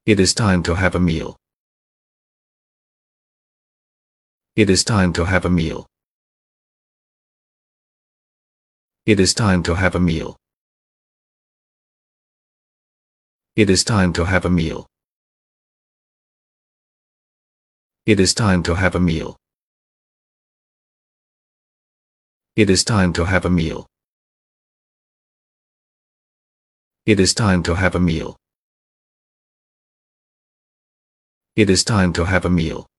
It is time to have a meal. It is time to have a meal. It is time to have a meal. It is time to have a meal. It is time to have a meal. It is time to have a meal. It is time to have a meal. It is time to have a meal.